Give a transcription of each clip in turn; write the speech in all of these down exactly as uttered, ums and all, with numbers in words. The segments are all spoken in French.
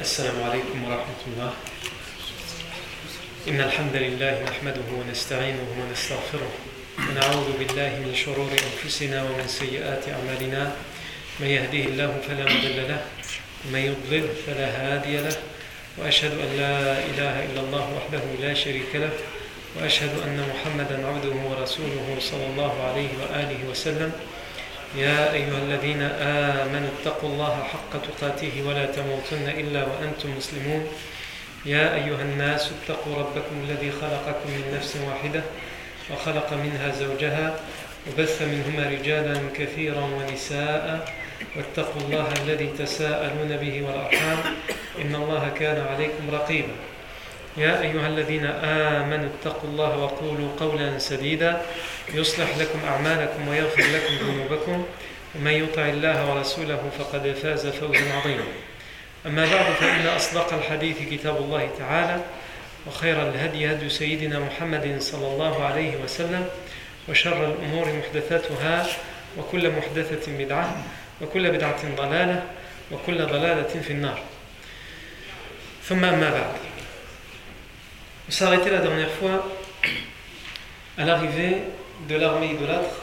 السلام عليكم ورحمة الله. إن الحمد لله نحمده ونستعينه ونستغفره ونعوذ بالله من شرور أنفسنا ومن سيئات أعمالنا. من يهديه الله فلا مضل له ومن يضلل فلا هادي له وأشهد أن لا إله إلا الله وحده لا شريك له وأشهد أن محمدا عبده ورسوله صلى الله عليه وآله وسلم. يا أيها الذين آمنوا اتقوا الله حق تقاته ولا تموتن إلا وأنتم مسلمون. يا أيها الناس اتقوا ربكم الذي خلقكم من نفس واحدة وخلق منها زوجها وبث منهما رجالا كثيرا ونساء واتقوا الله الذي تساءلون به والأرحام إن الله كان عليكم رقيبا. يا أيها الذين آمنوا اتقوا الله وقولوا قولا سديدا يصلح لكم أعمالكم ويغفر لكم ذنوبكم ومن يطع الله ورسوله فقد فاز فوزا عظيما. أما بعد فإن أصدق الحديث كتاب الله تعالى وخير الهدي هدي سيدنا محمد صلى الله عليه وسلم وشر الأمور محدثاتها وكل محدثة بدعة وكل بدعة ضلالة وكل ضلالة في النار. ثم أما بعد. On s'est arrêté la dernière fois à l'arrivée de l'armée idolâtre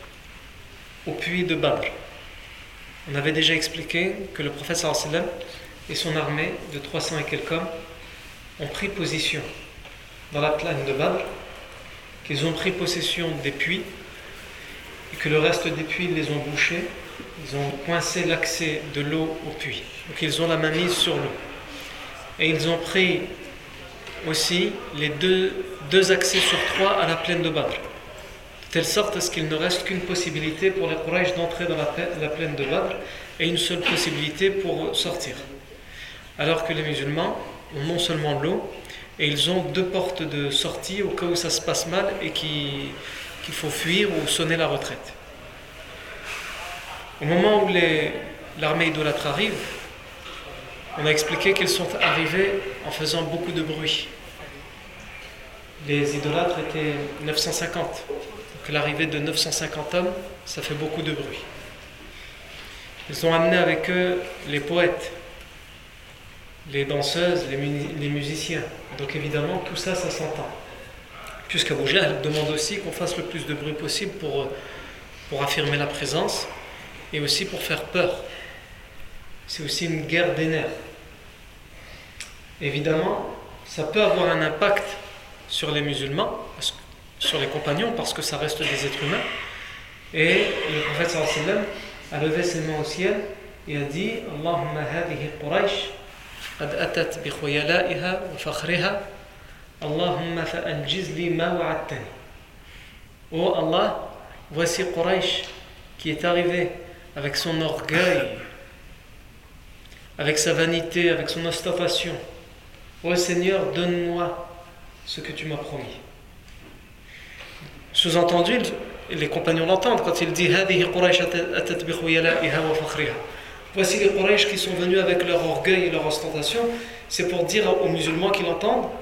au puits de Badr. On avait déjà expliqué que le prophète sallallahu alayhi wa sallam et son armée de trois cents et quelques hommes ont pris position dans la plaine de Badr, qu'ils ont pris possession des puits et que le reste des puits les ont bouchés, ils ont coincé l'accès de l'eau au puits. Donc ils ont la main mise sur l'eau. Et ils ont pris aussi les deux, deux accès sur trois à la plaine de Badr, de telle sorte à ce qu'il ne reste qu'une possibilité pour les Quraysh d'entrer dans la, la plaine de Badr et une seule possibilité pour sortir. Alors que les musulmans ont non seulement l'eau, et ils ont deux portes de sortie au cas où ça se passe mal et qu'il, qu'il faut fuir ou sonner la retraite. Au moment où les, l'armée idolâtre arrive, on a expliqué qu'ils sont arrivés en faisant beaucoup de bruit. Les idolâtres étaient neuf cent cinquante. Donc l'arrivée de neuf cent cinquante hommes, ça fait beaucoup de bruit. Ils ont amené avec eux les poètes, les danseuses, les, mu- les musiciens. Donc évidemment, tout ça, ça s'entend. Puisqu'Abu Jahl demande aussi qu'on fasse le plus de bruit possible pour, pour affirmer la présence et aussi pour faire peur. C'est aussi une guerre des nerfs. Évidemment, ça peut avoir un impact sur les musulmans, sur les compagnons, parce que ça reste des êtres humains. Et le prophète sallallahu alayhi wa sallam a levé ses mains au ciel et a dit Allahumma hadihi Quraysh qad atat bi khuyala'iha wa fakhriha Allahumma fa'aljiz li ma wa'adtani. Oh Allah, voici Quraysh qui est arrivé avec son orgueil, avec sa vanité, avec son ostentation. Ô Seigneur, donne-moi ce que tu m'as promis. Sous-entendu, les compagnons l'entendent quand il dit voici les Quraysh qui sont venus avec leur orgueil et leur ostentation. C'est pour dire aux musulmans qui l'entendent,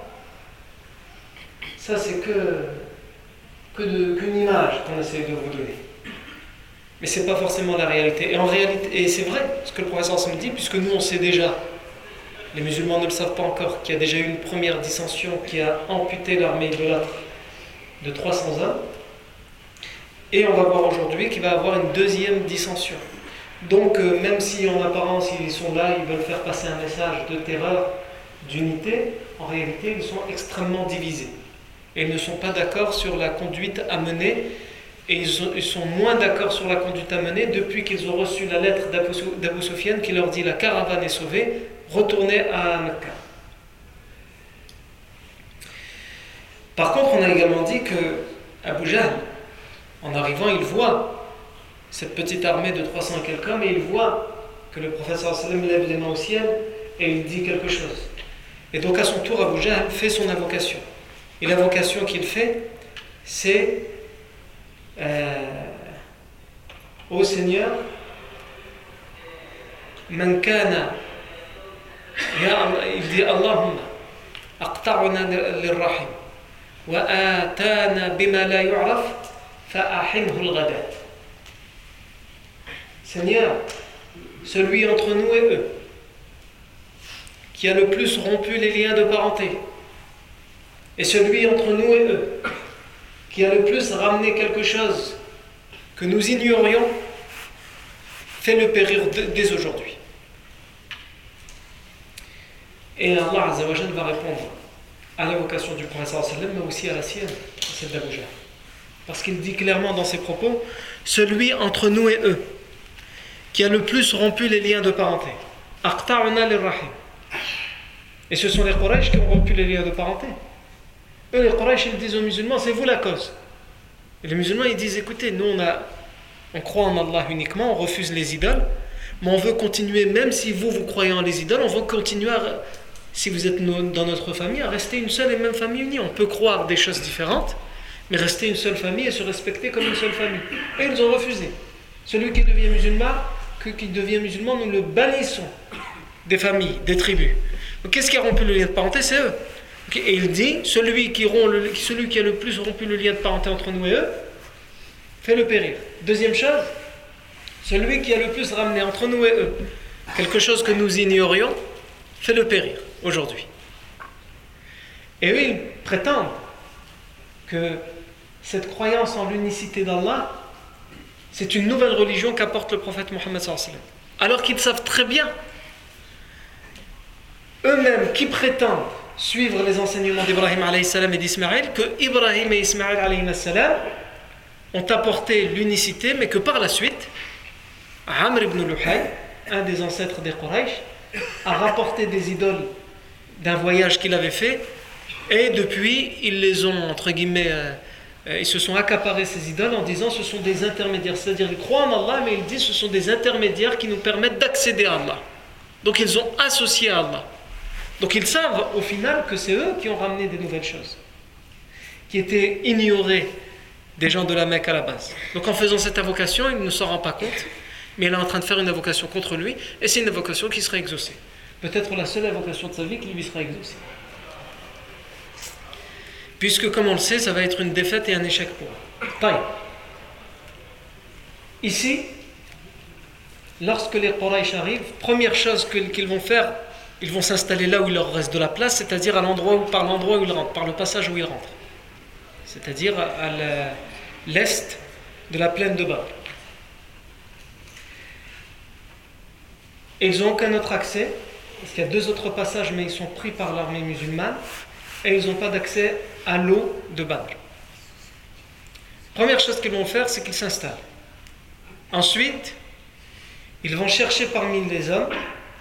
ça c'est que, que de, qu'une image qu'on essaie de vous donner. Mais ce n'est pas forcément la réalité. Et en réalité, et c'est vrai ce que le professeur me dit, puisque nous on sait déjà, les musulmans ne le savent pas encore, qu'il y a déjà eu une première dissension qui a amputé l'armée idolâtre de trois cents hommes. Et on va voir aujourd'hui qu'il va y avoir une deuxième dissension. Donc euh, même si en apparence ils sont là, ils veulent faire passer un message de terreur, d'unité, en réalité ils sont extrêmement divisés. Et ils ne sont pas d'accord sur la conduite à mener. Et ils sont moins d'accord sur la conduite à mener depuis qu'ils ont reçu la lettre d'Abu Sufyan qui leur dit la caravane est sauvée, retournez à Mecca. Par contre, on a également dit que Abu Jahl, en arrivant, il voit cette petite armée de trois cents et quelques hommes et il voit que le prophète sallallahu alayhi wa sallam lève les mains au ciel et il dit quelque chose. Et donc à son tour, Abu Jahl fait son invocation. Et l'invocation qu'il fait, c'est Euh, ô Seigneur, man kana, il dit Allahumma aqta'una lirrahim wa atana bima la yu'raf fa'ahinhu al-ghadat. Seigneur, celui entre nous et eux qui a le plus rompu les liens de parenté, et celui entre nous et eux, qui a le plus ramené quelque chose que nous ignorions, fais-le périr dès aujourd'hui. Et Allah Azza wa Jalla va répondre à l'invocation du prophète sallallahu alayhi wa sallam, mais aussi à la sienne, celle d'Abu Jahl. Parce qu'il dit clairement dans ses propos, celui entre nous et eux, qui a le plus rompu les liens de parenté. Aqta'na lirrahim. Et ce sont les Quraysh qui ont rompu les liens de parenté. Eux, les Quraysh, ils disent aux musulmans, c'est vous la cause. Et les musulmans, ils disent, écoutez, nous, on, a, on croit en Allah uniquement, on refuse les idoles, mais on veut continuer, même si vous, vous croyez en les idoles, on veut continuer, à, si vous êtes no, dans notre famille, à rester une seule et même famille unie. On peut croire des choses différentes, mais rester une seule famille et se respecter comme une seule famille. Et ils ont refusé. Celui qui devient musulman, que, qui devient musulman, nous le bannissons des familles, des tribus. Donc, qu'est-ce qui a rompu le lien de parenté? C'est eux. Okay. Et il dit, celui qui, rompt le, celui qui a le plus rompu le lien de parenté entre nous et eux, fait-le périr. Deuxième chose, celui qui a le plus ramené entre nous et eux quelque chose que nous ignorions, fait-le périr aujourd'hui. Et eux, ils prétendent que cette croyance en l'unicité d'Allah, c'est une nouvelle religion qu'apporte le prophète Mohammed sallallahu alayhi wa sallam. Alors qu'ils savent très bien, eux-mêmes qui prétendent suivre les enseignements d'Ibrahim alayhi salam et d'Ismaël, que Ibrahim et Ismaël alayhi salam ont apporté l'unicité, mais que par la suite, Amr ibn Luhay, un des ancêtres des Quraysh, a rapporté des idoles d'un voyage qu'il avait fait, et depuis, ils les ont, entre guillemets, euh, ils se sont accaparés ces idoles en disant ce sont des intermédiaires, c'est-à-dire ils croient en Allah, mais ils disent ce sont des intermédiaires qui nous permettent d'accéder à Allah. Donc ils ont associé à Allah. Donc ils savent au final que c'est eux qui ont ramené des nouvelles choses, qui étaient ignorées des gens de la Mecque à la base. Donc en faisant cette invocation, il ne s'en rend pas compte, mais il est en train de faire une invocation contre lui, et c'est une invocation qui sera exaucée. Peut-être la seule invocation de sa vie qui lui sera exaucée. Puisque, comme on le sait, ça va être une défaite et un échec pour eux. Taï. Ici, lorsque les Quraysh arrivent, première chose qu'ils vont faire, ils vont s'installer là où il leur reste de la place, c'est-à-dire à l'endroit où, par l'endroit où ils rentrent, par le passage où ils rentrent. C'est-à-dire à l'est de la plaine de Badr. Ils n'ont aucun autre accès, parce qu'il y a deux autres passages, mais ils sont pris par l'armée musulmane, et ils n'ont pas d'accès à l'eau de Badr. Première chose qu'ils vont faire, c'est qu'ils s'installent. Ensuite, ils vont chercher parmi les hommes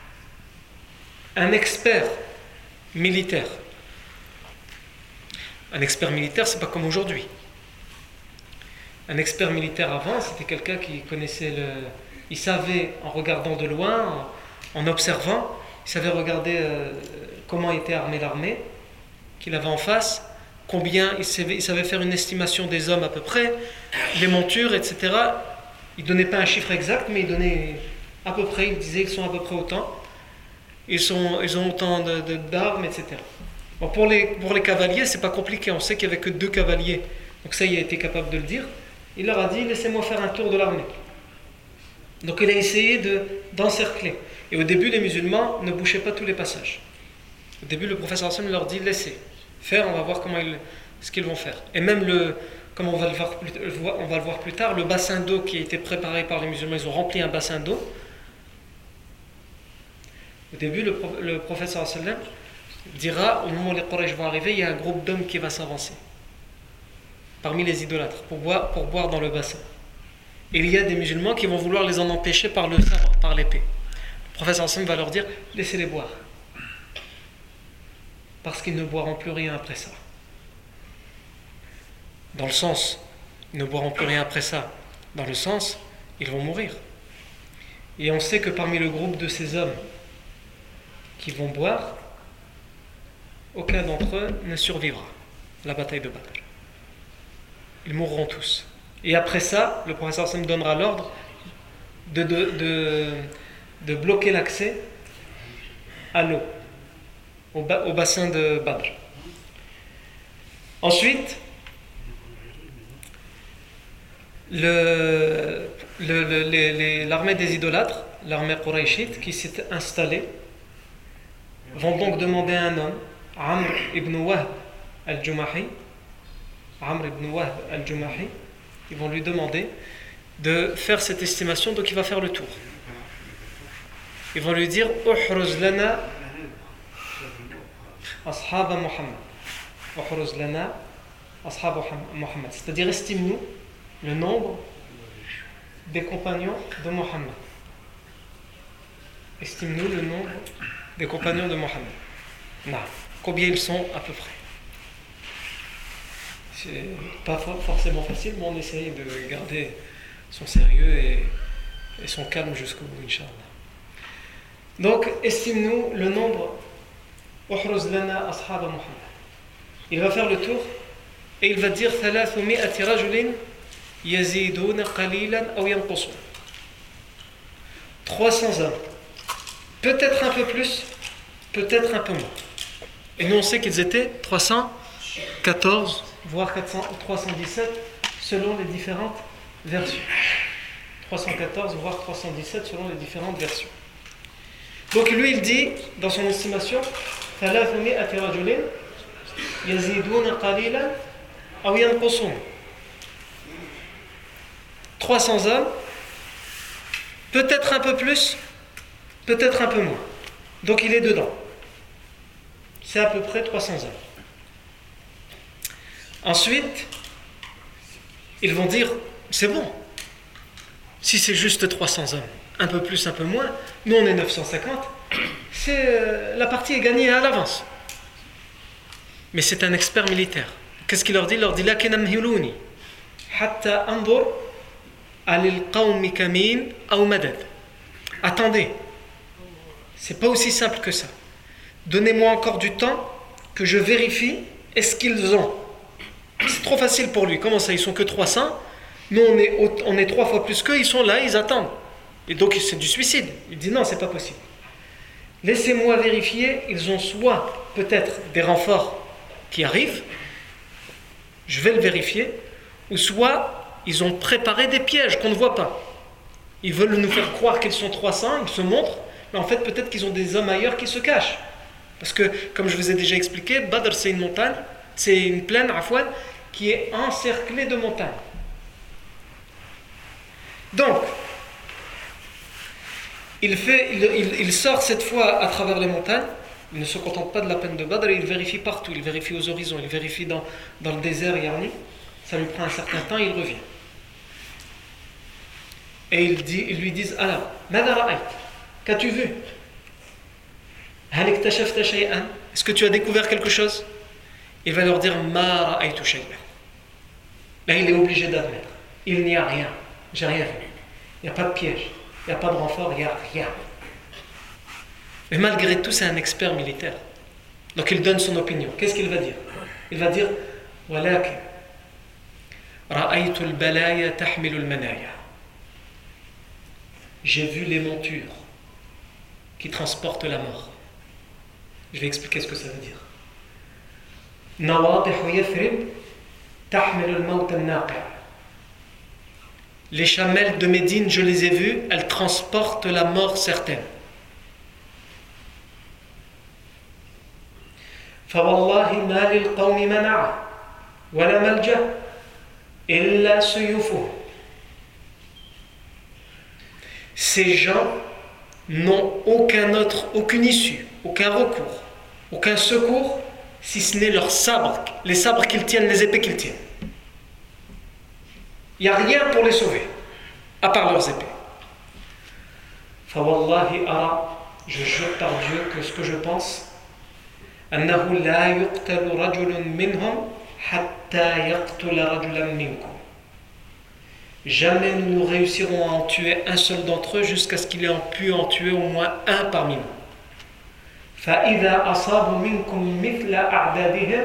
un expert militaire. Un expert militaire, c'est pas comme aujourd'hui. Un expert militaire avant, c'était quelqu'un qui connaissait le... Il savait, en regardant de loin, en, en observant, il savait regarder euh, comment était armée l'armée qu'il avait en face, combien, il savait, il savait faire une estimation des hommes à peu près, les montures, et cetera. Il ne donnait pas un chiffre exact, mais il donnait à peu près, il disait qu'ils sont à peu près autant. Ils, sont, ils ont autant de, de, d'armes, et cetera. Bon, pour, les, pour les cavaliers, c'est pas compliqué, on sait qu'il n'y avait que deux cavaliers, donc ça, il a été capable de le dire. Il leur a dit, laissez-moi faire un tour de l'armée. Donc il a essayé de, d'encercler. Et au début, les musulmans ne bouchaient pas tous les passages. Au début, le prophète sallallahu alayhi wa sallam leur dit, laissez faire, on va voir comment ils, ce qu'ils vont faire. Et même, le, comme on va, le voir plus, on va le voir plus tard, le bassin d'eau qui a été préparé par les musulmans, ils ont rempli un bassin d'eau. Au début, le, le prophète sallallahu alayhi wa sallam dira, au moment où les Quraysh vont arriver, il y a un groupe d'hommes qui va s'avancer parmi les idolâtres pour boire, pour boire dans le bassin. Et il y a des musulmans qui vont vouloir les en empêcher par le sabre, par l'épée. Le prophète sallallahu alayhi wa sallam va leur dire, laissez-les boire. Parce qu'ils ne boiront plus rien après ça. Dans le sens, ils ne boiront plus rien après ça. Dans le sens, ils vont mourir. Et on sait que parmi le groupe de ces hommes qui vont boire, aucun d'entre eux ne survivra à la bataille de Badr. Ils mourront tous. Et après ça, le professeur Hassan donnera l'ordre de, de, de, de bloquer l'accès à l'eau, au, ba, au bassin de Badr. Ensuite, le, le, le, les, les, l'armée des idolâtres, l'armée Qurayshite qui s'est installée vont donc demander à un homme, Amr ibn Wahb al-Jumahi, Amr ibn Wahb al-Jumahi, ils vont lui demander de faire cette estimation, donc il va faire le tour. Ils vont lui dire Uhruz lana ashab Muhammad. Uhruz lana ashab Muhammad. C'est-à-dire estime-nous le nombre des compagnons de Muhammad. Estime-nous le nombre des compagnons de Muhammad. Non. Combien ils sont à peu près? C'est pas forcément facile, mais on essaye de garder son sérieux et, et son calme jusqu'au bout, Inch'Allah. Donc, estime-nous le nombre. Uhruz lana ashab Muhammad. Il va faire le tour et il va dire thalathmi'ati rajulin yaziduna qalilan aw yanqusun. trois cents hommes. Peut-être un peu plus, peut-être un peu moins. Et nous on sait qu'ils étaient trois cent quatorze, voire quatre cents, trois cent dix-sept, selon les différentes versions. trois cent quatorze, voire trois cent dix-sept, selon les différentes versions. Donc lui il dit, dans son estimation, thalathmi'ati rajulin yaziduna qalilan aw yanqusun. trois cents hommes, peut-être un peu plus, peut-être un peu moins. Donc il est dedans. C'est à peu près trois cents hommes. Ensuite, ils vont dire, c'est bon. Si c'est juste trois cents hommes, un peu plus, un peu moins, nous on est neuf cent cinquante, c'est, euh, la partie est gagnée à l'avance. Mais c'est un expert militaire. Qu'est-ce qu'il leur dit? Il leur dit, lakin amhiluni, hatta andur alil qawmi kamin aw madad. Attendez, c'est pas aussi simple que ça. Donnez-moi encore du temps que je vérifie est-ce qu'ils ont. C'est trop facile pour lui. Comment ça, ils sont que trois cents? Nous on est, on est trois fois plus qu'eux, ils sont là, ils attendent. Et donc c'est du suicide. Il dit non, c'est pas possible. Laissez-moi vérifier, ils ont soit peut-être des renforts qui arrivent, je vais le vérifier, ou soit ils ont préparé des pièges qu'on ne voit pas. Ils veulent nous faire croire qu'ils sont trois cents, ils se montrent, mais en fait peut-être qu'ils ont des hommes ailleurs qui se cachent. Parce que, comme je vous ai déjà expliqué, Badr c'est une montagne, c'est une plaine, Afouane, qui est encerclée de montagnes. Donc, il, fait, il, il, il sort cette fois à travers les montagnes, il ne se contente pas de la plaine de Badr, il vérifie partout, il vérifie aux horizons, il vérifie dans, dans le désert Yarni, ça lui prend un certain temps, il revient. Et ils, dit, ils lui disent, alors, Mada ra'ayt, qu'as-tu vu? Est-ce que tu as découvert quelque chose? Il va leur dire Ma ra'aytu shay'an. Là, il est obligé d'admettre. Il n'y a rien. J'ai rien vu. Il n'y a pas de piège. Il n'y a pas de renfort. Il n'y a rien. Mais malgré tout, c'est un expert militaire. Donc, il donne son opinion. Qu'est-ce qu'il va dire? Il va dire Walakin ra'aytu al-balaya tahmilu al-manaya. J'ai vu les montures qui transportent la mort. Je vais expliquer ce que ça veut dire. Les chamelles de Médine, je les ai vues, elles transportent la mort certaine. فوالله ما للقوم منع ولا ملجأ إلا سيوفهم. Ces gens n'ont aucun autre, aucune issue, aucun recours, aucun secours, si ce n'est leurs sabres, les sabres qu'ils tiennent, les épées qu'ils tiennent. Il n'y a rien pour les sauver, à part leurs épées. فَوَاللَّهِ أَرَى, je jure par Dieu que ce que je pense, أَنَّهُ لَا يُقْتَلُ رَجُلٌ مِّنْهُمْ حَتَّى يَقْتُلَ رَجُلًا مِّنْكُمْ. Jamais nous ne réussirons à en tuer un seul d'entre eux jusqu'à ce qu'il ait pu en tuer au moins un parmi nous. فَإِذَا أَصَابُوا مِنْكُمْ مِثْلَ أَعْدَادِهِمْ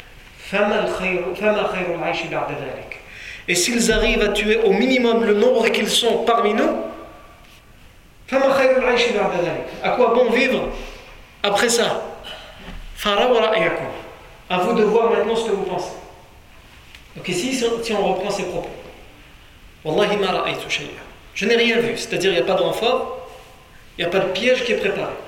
فَمَا خَيْرُ الْعَيْشِ بَعْدَ ذَلِكَ. Et s'ils arrivent à tuer au minimum le nombre qu'ils sont parmi nous, فَمَا خَيْرُ الْعَيْشِ بَعْدَ ذَلِكَ. À quoi bon vivre après ça? فَرَوْا رَأْيَكُمْ. À vous de voir maintenant ce que vous pensez. Donc ici, si on reprend ces propos. Wallahi ma ra'aytu shay'an. Je n'ai rien vu, c'est-à-dire il n'y a pas de renfort, il n'y a pas de piège qui est préparé.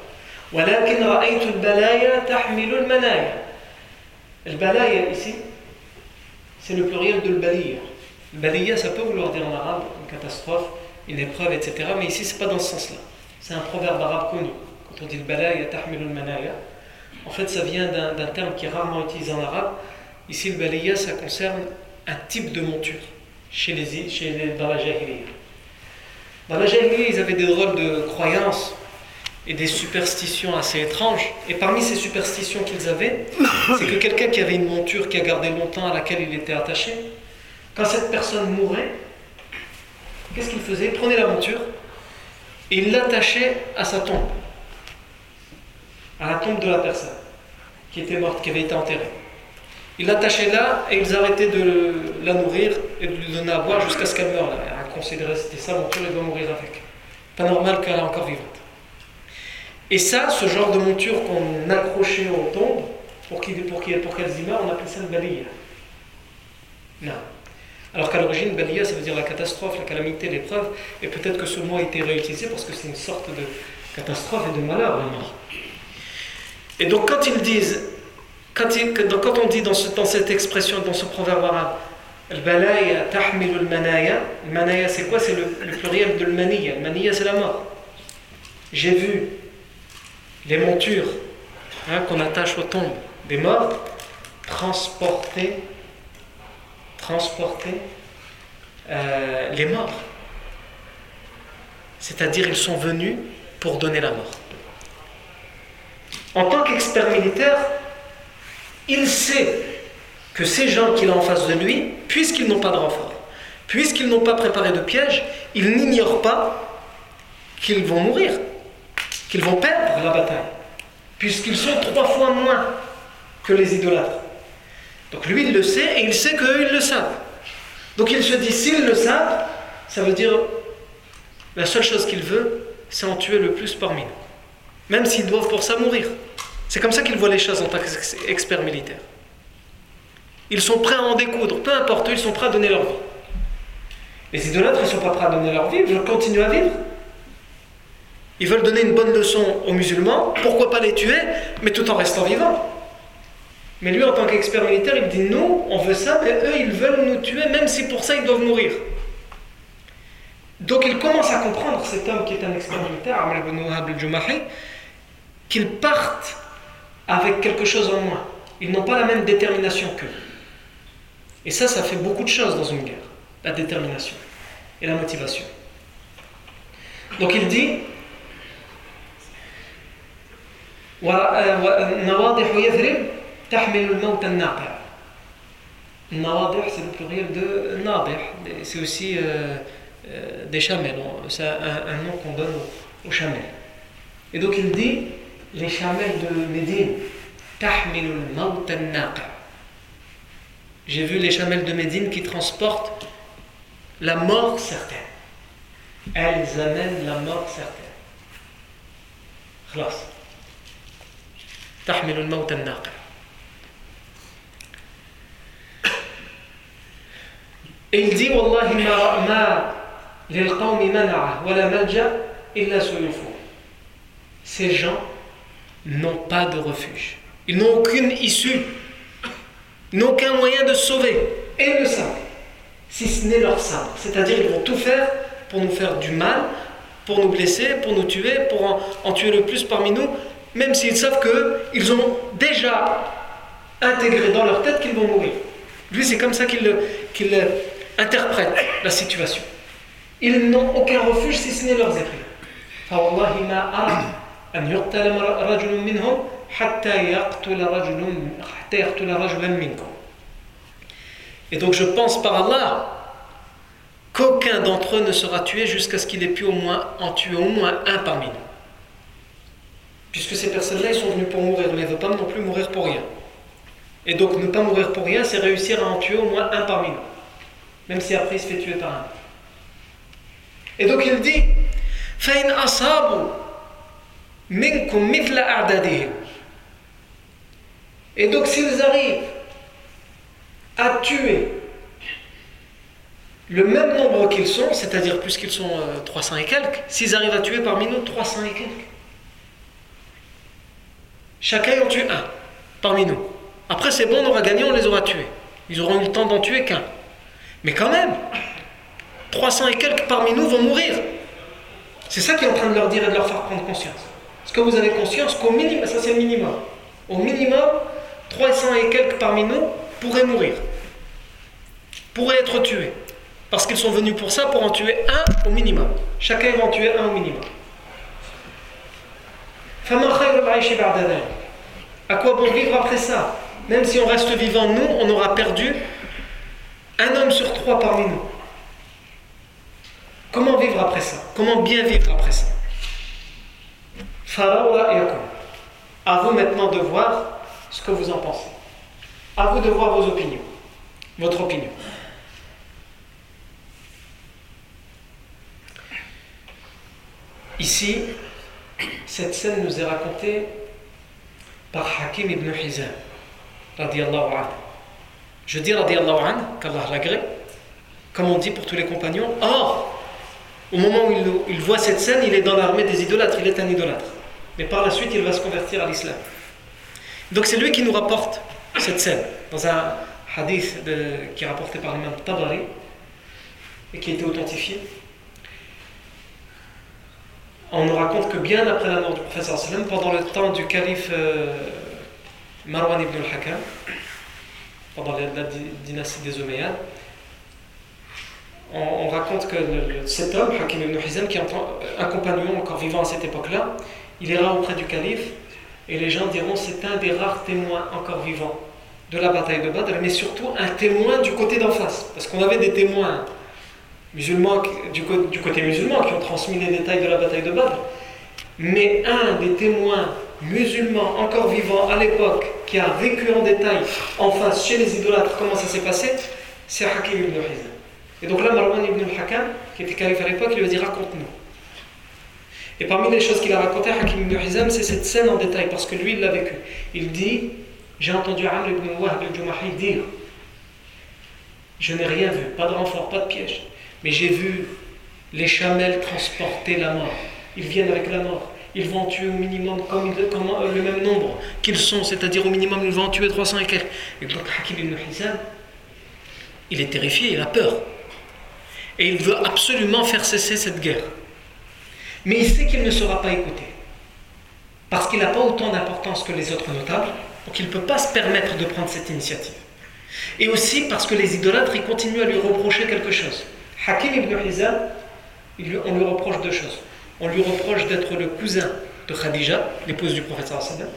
ولكن رأيت البلايا تحمل المنايا. البلايا ici, c'est le pluriel de l'baliya. L'baliya, ça peut vouloir dire en arabe une catastrophe, une épreuve, et cetera. Mais ici, c'est pas dans ce sens-là. C'est un proverbe arabe connu. Quand on dit l'balaya tahmilu al-manaya, en fait, ça vient d'un, d'un terme qui est rarement utilisé en arabe. Ici, l'baliya, ça concerne un type de monture chez les, chez les, dans la jahiliya. Dans la jahiliya, ils avaient des drôles de croyances et des superstitions assez étranges. Et parmi ces superstitions qu'ils avaient, c'est que quelqu'un qui avait une monture qui a gardé longtemps, à laquelle il était attaché, quand cette personne mourait, qu'est-ce qu'il faisait? Il prenait la monture et il l'attachait à sa tombe, à la tombe de la personne qui était morte, qui avait été enterrée. Ils l'attachaient là et ils arrêtaient de la nourrir et de lui donner à boire jusqu'à ce qu'elle meure. Elle considérait que c'était sa monture, elle doit mourir avec. Pas normal qu'elle est encore vivante. Et ça, ce genre de monture qu'on accrochait aux tombes pour, qu'il, pour, qu'il, pour qu'elles y meurent, on appelle ça le baliya. Non. Alors qu'à l'origine, baliya, ça veut dire la catastrophe, la calamité, l'épreuve, et peut-être que ce mot a été réutilisé parce que c'est une sorte de catastrophe et de malheur, la mort. Et donc quand ils disent, quand, ils, quand on dit dans, ce, dans cette expression, dans ce proverbe arabe, al-balaya tahmilu al-manaya, le manaya c'est quoi? C'est le, le pluriel de al-maniya. Al-maniya c'est la mort. J'ai vu les montures hein, qu'on attache aux tombes des morts transporter transporter euh, les morts, c'est-à-dire ils sont venus pour donner la mort. En tant qu'expert militaire, il sait que ces gens qu'il a en face de lui, puisqu'ils n'ont pas de renfort, puisqu'ils n'ont pas préparé de piège, ils n'ignorent pas qu'ils vont mourir, qu'ils vont perdre la bataille, puisqu'ils sont trois fois moins que les idolâtres. Donc lui il le sait et il sait qu'eux ils le savent. Donc il se dit, s'ils le savent, ça veut dire la seule chose qu'il veut, c'est en tuer le plus parmi nous, même s'ils doivent pour ça mourir. C'est comme ça qu'ils voient les choses en tant qu'experts militaires. Ils sont prêts à en découdre, peu importe, eux, ils sont prêts à donner leur vie. Les idolâtres, ils ne sont pas prêts à donner leur vie, ils veulent continuer à vivre. Ils veulent donner une bonne leçon aux musulmans, pourquoi pas les tuer, mais tout en restant vivants. Mais lui, en tant qu'expert militaire, il dit, nous, on veut ça, mais eux, ils veulent nous tuer, même si pour ça, ils doivent mourir. Donc il commence à comprendre, cet homme qui est un expert militaire, Amr ibn Wahab al-Jumahi, qu'ils partent avec quelque chose en moins. Ils n'ont pas la même détermination qu'eux. Et ça, ça fait beaucoup de choses dans une guerre. La détermination et la motivation. Donc il dit Nawadih Yathrib tahmil al-mawt al-naqi'. Nawadih, c'est le pluriel de Nadih. C'est aussi euh, euh, des chamelles. C'est un, un nom qu'on donne aux, aux chamelles. Et donc il dit les chamelles de Médine, tahmil al-mawt al-naqi'. J'ai vu les chamelles de Médine qui transportent la mort certaine. Elles amènent la mort certaine. Khlas. Tahmil al-mawt al-naqi'. Et il dit Wallahi ma ma lil qawmi mana'a wa la malja illa suyufu. Ces gens n'ont pas de refuge. Ils n'ont aucune issue. Ils n'ont aucun moyen de se sauver. Et ils le savent. Si ce n'est leur sabre. C'est-à-dire qu'ils vont tout faire pour nous faire du mal, pour nous blesser, pour nous tuer, pour en, en tuer le plus parmi nous, même s'ils savent qu'ils ont déjà intégré dans leur tête qu'ils vont mourir. Lui, c'est comme ça qu'il, qu'il interprète la situation. Ils n'ont aucun refuge si ce n'est leurs épées. فَوَاللَّهِ مَا أَرَى أَنْ يُقْتَلَ رَجُلٌ مِّنْهُمْ حَتَّى يَقْتُلَ رَجُلًا مِّنْكُمْ. Et donc je pense par Allah qu'aucun d'entre eux ne sera tué jusqu'à ce qu'il ait pu au moins en tuer au moins un parmi nous. Puisque ces personnes-là, ils sont venus pour mourir, mais ils ne veulent pas non plus mourir pour rien. Et donc ne pas mourir pour rien, c'est réussir à en tuer au moins un parmi nous. Même si après il se fait tuer par un. Et donc il dit فَإِنْ أَصَابُوا مِنْكُمْ مِثْلَ أَعْدَادِهِمْ. Et donc s'ils arrivent à tuer le même nombre qu'ils sont, c'est-à-dire puisqu'ils sont euh, trois cents et quelques, s'ils arrivent à tuer parmi nous trois cents et quelques, chacun en tue un parmi nous. Après c'est bon, on aura gagné, on les aura tués. Ils auront eu le temps d'en tuer qu'un. Mais quand même, trois cents et quelques parmi nous vont mourir. C'est ça qu'il est en train de leur dire et de leur faire prendre conscience. Est-ce que vous avez conscience qu'au minimum, ça c'est le minimum, au minimum, trois cents et quelques parmi nous pourraient mourir, pourraient être tués. Parce qu'ils sont venus pour ça, pour en tuer un au minimum. Chacun va en tuer un au minimum. À quoi bon vivre après ça? Même si on reste vivant, nous, on aura perdu un homme sur trois parmi nous. Comment vivre après ça? Comment bien vivre après ça? À vous maintenant de voir ce que vous en pensez. À vous de voir vos opinions. Votre opinion. Ici, cette scène nous est racontée par Hakim ibn Hizam, radiyallahu anhu. Je dis radiyallahu anhu, qu'Allah l'agrée, comme on dit pour tous les compagnons. Or, au moment où il, il voit cette scène, il est dans l'armée des idolâtres, il est un idolâtre. Mais par la suite, il va se convertir à l'islam. Donc c'est lui qui nous rapporte cette scène, dans un hadith de, qui est rapporté par l'imam Tabari, et qui a été authentifié. On nous raconte que bien après la mort du prophète sallam, pendant le temps du calife euh, Marwan ibn al-Hakam, pendant la, la dynastie des Omeyyades, on, on raconte que le, cet homme, Hakim ibn Hizam, qui est un compagnon encore vivant à cette époque-là, il ira auprès du calife et les gens diront c'est un des rares témoins encore vivants de la bataille de Badr, mais surtout un témoin du côté d'en face, parce qu'on avait des témoins musulmans du, du côté musulman qui ont transmis les détails de la bataille de Badr, mais un des témoins musulmans encore vivants à l'époque qui a vécu en détail en face chez les idolâtres comment ça s'est passé, c'est Hakim ibn Hizam. Et donc là Marwan ibn al-Hakam, qui était calife à l'époque, il lui a dit raconte-nous. Et parmi les choses qu'il a racontées, Hakim ibn Hizam, c'est cette scène en détail, parce que lui il l'a vécu. Il dit, j'ai entendu Amr ibn Wahb al-Jumahi dire, je n'ai rien vu, pas de renfort, pas de piège, mais j'ai vu les chamelles transporter la mort. Ils viennent avec la mort. Ils vont en tuer au minimum comme, comme le même nombre qu'ils sont, c'est-à-dire au minimum ils vont en tuer trois cents et quelques. Et donc Hakim ibn Hizam, il est terrifié, il a peur. Et il veut absolument faire cesser cette guerre. Mais il sait qu'il ne sera pas écouté. Parce qu'il n'a pas autant d'importance que les autres notables, donc il ne peut pas se permettre de prendre cette initiative. Et aussi parce que les idolâtres, ils continuent à lui reprocher quelque chose. Hakim ibn Hizam, il lui, on lui reproche deux choses. On lui reproche d'être le cousin de Khadija, l'épouse du prophète sallallahu alayhi wa sallam.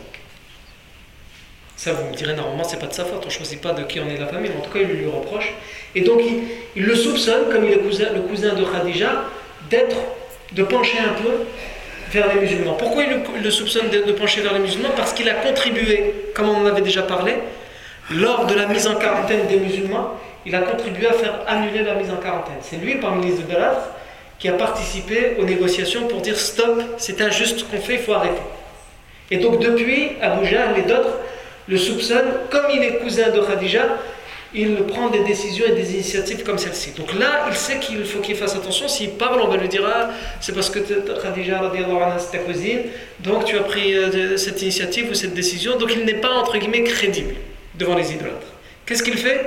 Ça, vous me direz, normalement, c'est pas de sa faute, on ne choisit pas de qui on est la famille, mais en tout cas, il lui reproche. Et donc, il, il le soupçonne, comme il est cousin, le cousin de Khadija, d'être, de pencher un peu vers les musulmans. Pourquoi il le, il le soupçonne de, de pencher vers les musulmans? Parce qu'il a contribué, comme on en avait déjà parlé, lors de la mise en quarantaine des musulmans, il a contribué à faire annuler la mise en quarantaine. C'est lui, parmi les idolâtres, qui a participé aux négociations pour dire stop, c'est injuste ce qu'on fait, il faut arrêter. Et donc depuis, Abu Jahl et d'autres le soupçonnent, comme il est cousin de Khadija, il prend des décisions et des initiatives comme celle-ci. Donc là, il sait qu'il faut qu'il fasse attention. S'il parle, on va lui dire ah, c'est parce que Khadija, c'est ta cousine, donc tu as pris euh, cette initiative ou cette décision. Donc il n'est pas, entre guillemets, crédible devant les idolâtres. Qu'est-ce qu'il fait?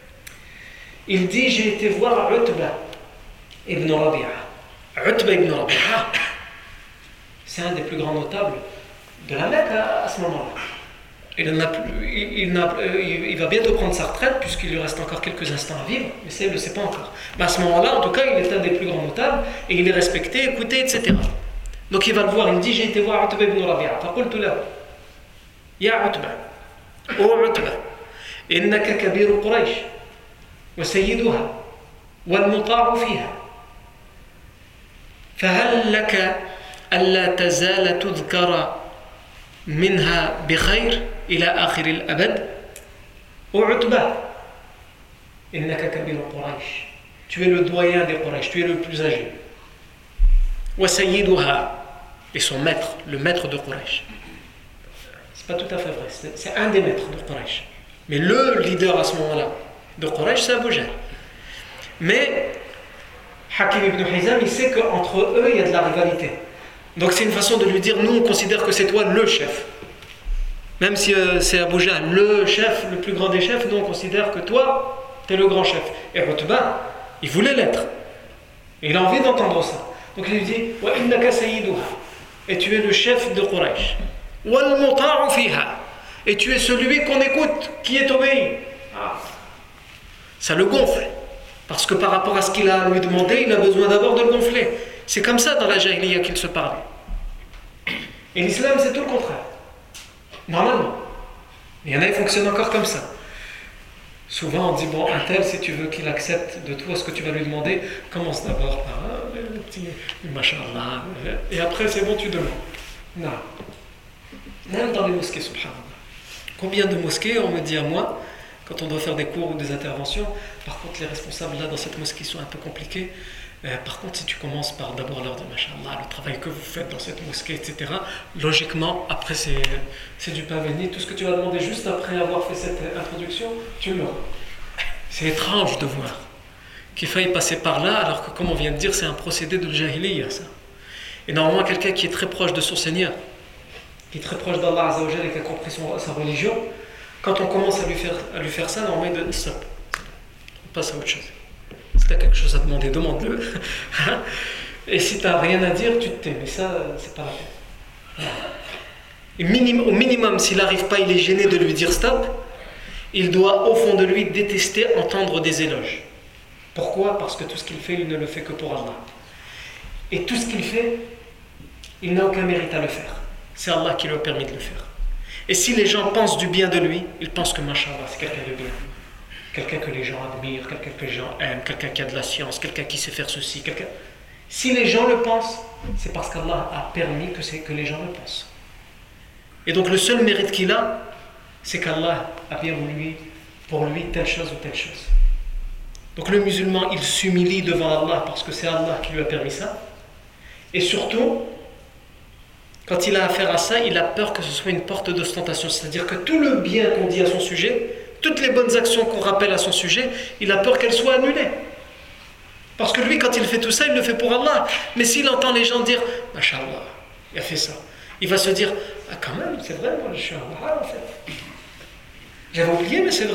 Il dit, j'ai été voir Utba ibn Rabi'a. Utba ibn Rabi'a, c'est un des plus grands notables de la Mecque à, à ce moment-là. Il, n'a plus, il, il, n'a, il, il va bientôt prendre sa retraite puisqu'il lui reste encore quelques instants à vivre, mais ça il ne le sait pas encore. Mais à ce moment-là, en tout cas, il est un des plus grands notables et il est respecté, écouté, et cetera. Donc il va le voir, il dit, j'ai été voir Utba ibn Rabi'a. فقلت له يا عتبة أو عتبة إنك كبير قريش وسيدها والمطاع فيها فهل لك ألا تزال تذكر منها بخير إلى آخر الأبد وعتبة إنك كبير قريش tu es le doyen des Quraysh, tu es le plus âgé وسيدها et son maître, le maître de Quraysh. C'est pas tout à fait vrai, c'est, c'est un des maîtres de Quraysh, mais le leader à ce moment-là de Quraysh, c'est Abu Jahl. Mais Hakim ibn Hizam, il sait qu'entre eux, il y a de la rivalité. Donc c'est une façon de lui dire, nous on considère que c'est toi le chef. Même si euh, c'est Abu Jahl, le chef, le plus grand des chefs, nous on considère que toi, tu es le grand chef. Et Utba, il voulait l'être. Et il a envie d'entendre ça. Donc il lui dit Wa innaka sayyiduha. Et tu es le chef de Quraysh. Wal muta'u fiha. Et tu es celui qu'on écoute, qui est obéi. Ah. Ça le gonfle. Parce que par rapport à ce qu'il a à lui demander, il a besoin d'abord de le gonfler. C'est comme ça dans la Jahiliya qu'il se parlait. Et l'islam, c'est tout le contraire. Normalement. Il y en a qui fonctionnent encore comme ça. Souvent, on dit, bon, un tel, si tu veux qu'il accepte de toi ce que tu vas lui demander, commence d'abord par ah, le petit machallah. Et après, c'est bon, tu demandes. Non. Même dans les mosquées, subhanallah. Combien de mosquées, on me dit à moi, quand on doit faire des cours ou des interventions, par contre, les responsables là dans cette mosquée sont un peu compliqués. Euh, par contre, si tu commences par d'abord leur dire machallah, le travail que vous faites dans cette mosquée, et cetera, logiquement, après, c'est, c'est du pain béni. Tout ce que tu vas demander juste après avoir fait cette introduction, tu l'auras. C'est étrange de voir qu'il faille passer par là, alors que, comme on vient de dire, c'est un procédé de jahiliya, ça. Et normalement, quelqu'un qui est très proche de son Seigneur, qui est très proche d'Allah Azza wa Jalla et qui a compris son, sa religion, quand on commence à lui faire, à lui faire ça, normalement, il dit stop. On passe à autre chose. Si tu as quelque chose à demander, demande-le. Et si tu n'as rien à dire, tu te tais. Mais ça, c'est pas la peine. Et minimum, au minimum, s'il n'arrive pas, il est gêné de lui dire stop, il doit, au fond de lui, détester entendre des éloges. Pourquoi ? Parce que tout ce qu'il fait, il ne le fait que pour Allah. Et tout ce qu'il fait, il n'a aucun mérite à le faire. C'est Allah qui lui a permis de le faire. Et si les gens pensent du bien de lui, ils pensent que, mashallah, c'est quelqu'un de bien. Quelqu'un que les gens admirent, quelqu'un que les gens aiment, quelqu'un qui a de la science, quelqu'un qui sait faire ceci, quelqu'un... Si les gens le pensent, c'est parce qu'Allah a permis que, c'est, que les gens le pensent. Et donc le seul mérite qu'il a, c'est qu'Allah a bien voulu pour lui telle chose ou telle chose. Donc le musulman, il s'humilie devant Allah parce que c'est Allah qui lui a permis ça. Et surtout, quand il a affaire à ça, il a peur que ce soit une porte d'ostentation. C'est-à-dire que tout le bien qu'on dit à son sujet, toutes les bonnes actions qu'on rappelle à son sujet, il a peur qu'elles soient annulées. Parce que lui, quand il fait tout ça, il le fait pour Allah. Mais s'il entend les gens dire « Mashallah, il a fait ça », il va se dire « Ah quand même, c'est vrai, moi je suis un wahhab en fait. J'avais oublié, mais c'est vrai. »